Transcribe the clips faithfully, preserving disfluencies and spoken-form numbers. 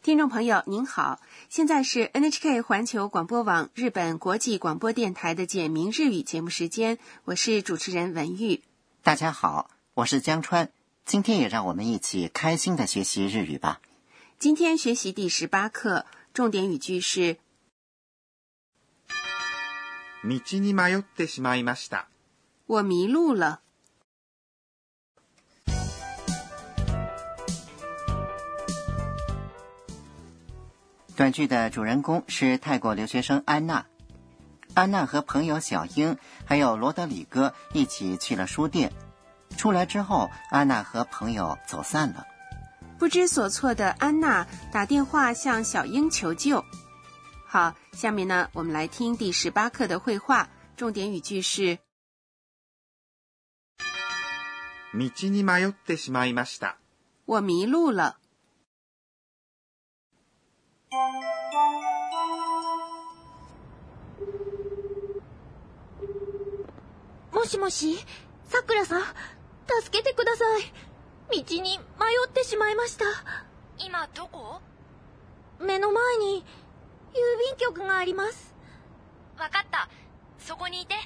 听众朋友您好，现在是 N H K 环球广播网日本国际广播电台的简明日语节目时间，我是主持人文玉。 大家好，我是江川，今天也让我们一起开心的学习日语吧。 今天学习第十八课，重点语句是道に迷ってしまいました。 我迷路了。 短剧的主人公是泰国留学生安娜。安娜和朋友小英还有罗德里戈一起去了书店，出来之后，安娜和朋友走散了。 不知所措的安娜打电话向小英求救。好，下面呢，我们来听第十八课的绘画，重点语句是道に迷ってしまいました。 我迷路了。 もしもし、さくらさん、助けてください。道に迷ってしまいました。 今どこ？ 目の前に郵便局があります。 わかった。そこにいて。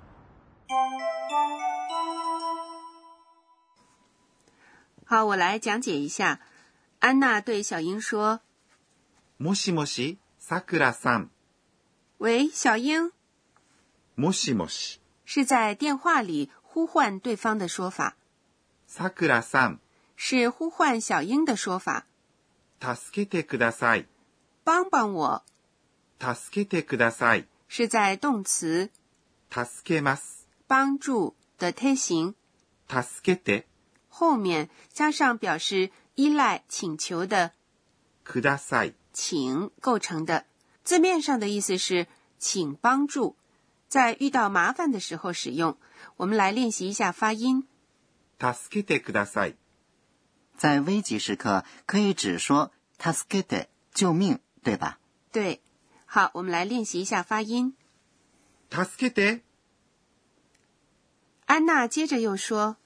好，我来讲解一下。安娜对小英说： もしもし、さくらさん。 喂，小英。 もしもし。 是在电话里呼唤对方的说法。 さくらさん。 是呼唤小英的说法。 助けてください。 帮帮我。 助けてください。 是在動詞助けます。 帮助的推形助けて后面加上表示依赖请求的ください请构成的，字面上的意思是请帮助，在遇到麻烦的时候使用。我们来练习一下发音。 助けてください。 在危急时刻可以只说助けて救命，对吧？ 对。好，我们来练习一下发音。 助けて。 安娜接着又说：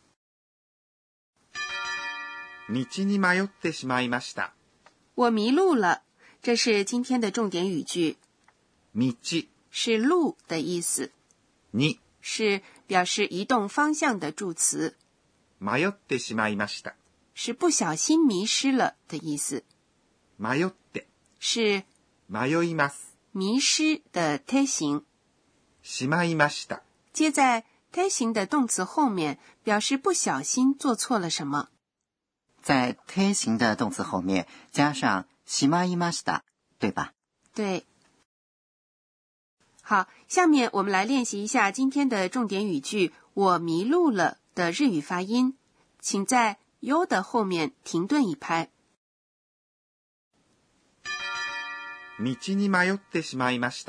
道に迷ってしまいました。 我迷路了。这是今天的重点语句。 道是路的意思。 に是表示移动方向的助词。 迷ってしまいました。 是不小心迷失了的意思。 迷って是迷います。 迷失的推形。 しまいました。 接在推形的动词后面，表示不小心做错了什么。 在推形的动词后面加上しまいました，对吧？ 对。好，下面我们来练习一下今天的重点语句我迷路了的日语发音，请在 U 的后面停顿一拍。 道に迷ってしまいました。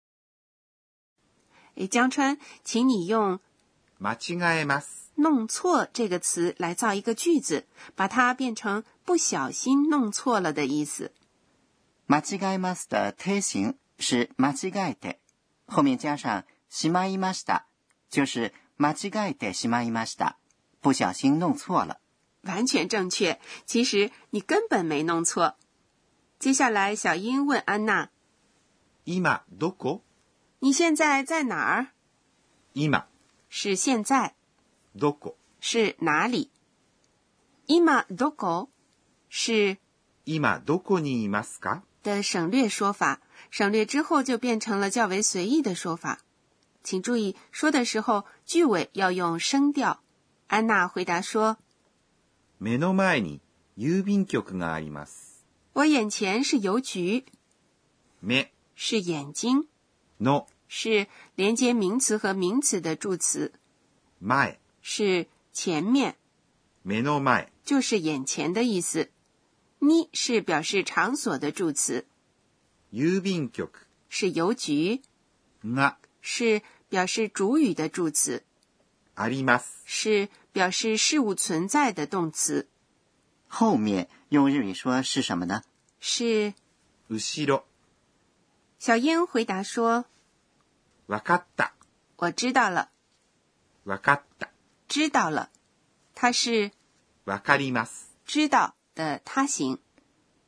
诶，江川，请你用間違えます弄错这个词来造一个句子，把它变成不小心弄错了的意思。 間違えます的推形是間違えて，后面加上しまいました，就是間違えてしまいました，不小心弄错了。 完全正确，其实你根本没弄错。接下来小英问安娜： 今どこ？ 你现在在哪儿？ 今是现在。 どこ？ 是哪里？今どこ？是今どこにいますか？ 的省略说法，省略之后就变成了较为随意的说法。请注意，说的时候句尾要用声调。安娜回答说： 目の前に郵便局があります。 我眼前是邮局。 目是眼睛。 の是连接名词和名词的助词。 前是前面。 目の前就是眼前的意思。に是表示场所的助词。 郵便局是邮局。 が是表示主语的助词。 あります是表示事物存在的动词。 后面用日语说是什么呢？ 是後ろ。 小英回答说： わかった。 我知道了。 わかった。 知道了。它是わかります。 知道的他形。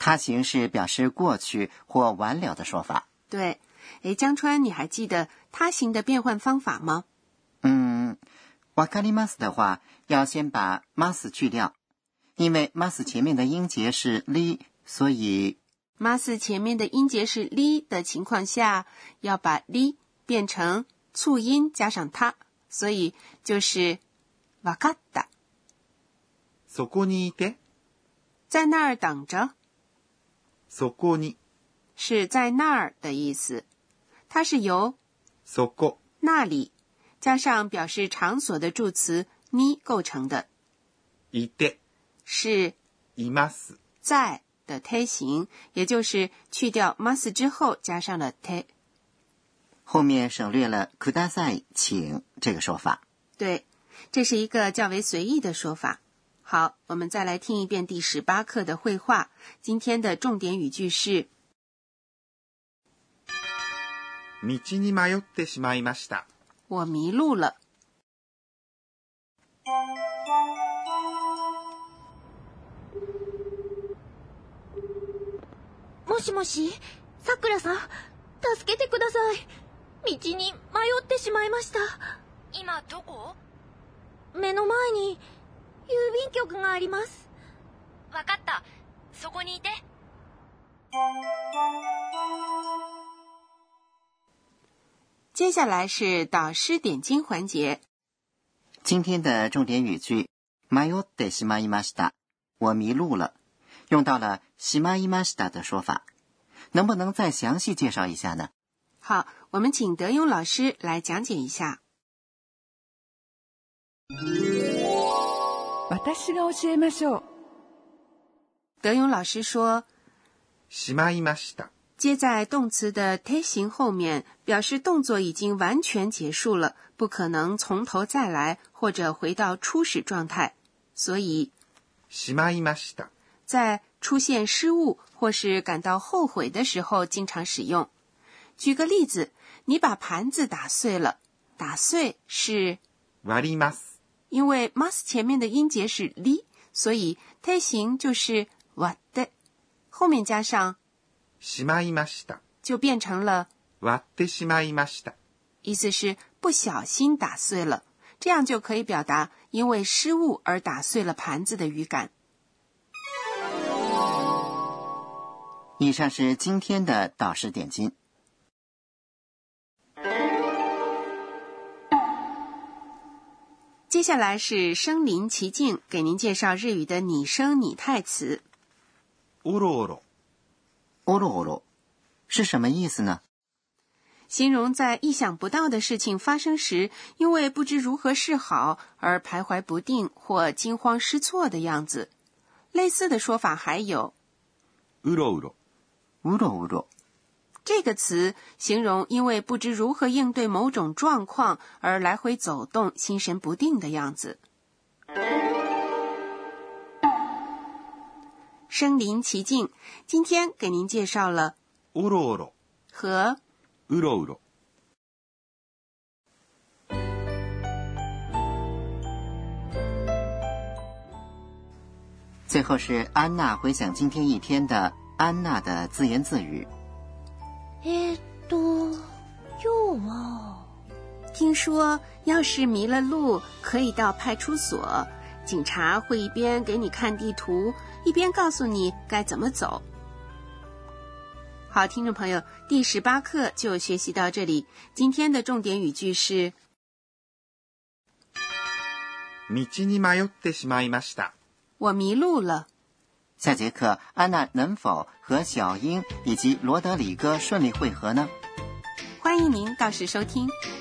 他行是表示过去或完了的说法。 对，诶，江川，你还记得他行的变换方法吗？ 嗯，わかります的话，要先把 mas 去掉，因为 mas 前面的音节是 li， 所以 mas 前面的音节是 li 的情况下，要把 li 变成促音加上他，所以就是わかった。 そこにいて。 在那儿等着。 そこに。 是在那儿的意思，它是由そこ那里加上表示场所的助词に构成的。 いて是います在的て形，也就是去掉 mas 之后加上了て。 后面省略了ください请这个说法。 对，这是一个较为随意的说法。好，我们再来听一遍第十八课的绘画。今天的重点语句是道に迷ってしまいました。 我迷路了。 もしもし、さくらさん、助けてください。道に迷ってしまいました。 今どこ？ 目の前に郵便局があります。 わかった。そこにいて。 接下来是导师点睛环节。 今天的重点语句迷ってしまいました，我迷路了，用到了しまいました的说法，能不能再详细介绍一下呢？ 好，我们请德庸老师来讲解一下。 私が教えましょう。 德庸老师说， しまいました。 接在动词的て形后面，表示动作已经完全结束了，不可能从头再来或者回到初始状态，所以しまいました。 在出现失误或是感到后悔的时候经常使用。举个例子，你把盘子打碎了，打碎是割ります。 因为 mas 前面的音节是 li， 所以て形就是割って，后面加上しまいました。 就变成了割ってしまいました。 意思是不小心打碎了，这样就可以表达因为失误而打碎了盘子的语感。 以上是今天的导师点睛。 接下来是身临其境，给您介绍日语的拟声拟态词。 おろおろ。 おろおろ是什么意思呢？ 形容在意想不到的事情发生时，因为不知如何是好而徘徊不定或惊慌失措的样子。类似的说法还有うろうろ。 うろうろ这个词形容因为不知如何应对某种状况而来回走动、心神不定的样子。身临其境，今天给您介绍了おろおろ和うろうろ。 最后是安娜回想今天一天的安娜的自言自语。 えーっと、今日は听说要是迷了路，可以到派出所，警察会一边给你看地图，一边告诉你该怎么走。好，听众朋友，第十八课就学习到这里。今天的重点语句是道に迷ってしまいました。 我迷路了。 下节课安娜能否和小英以及罗德里戈顺利会合呢？ 欢迎您到时收听。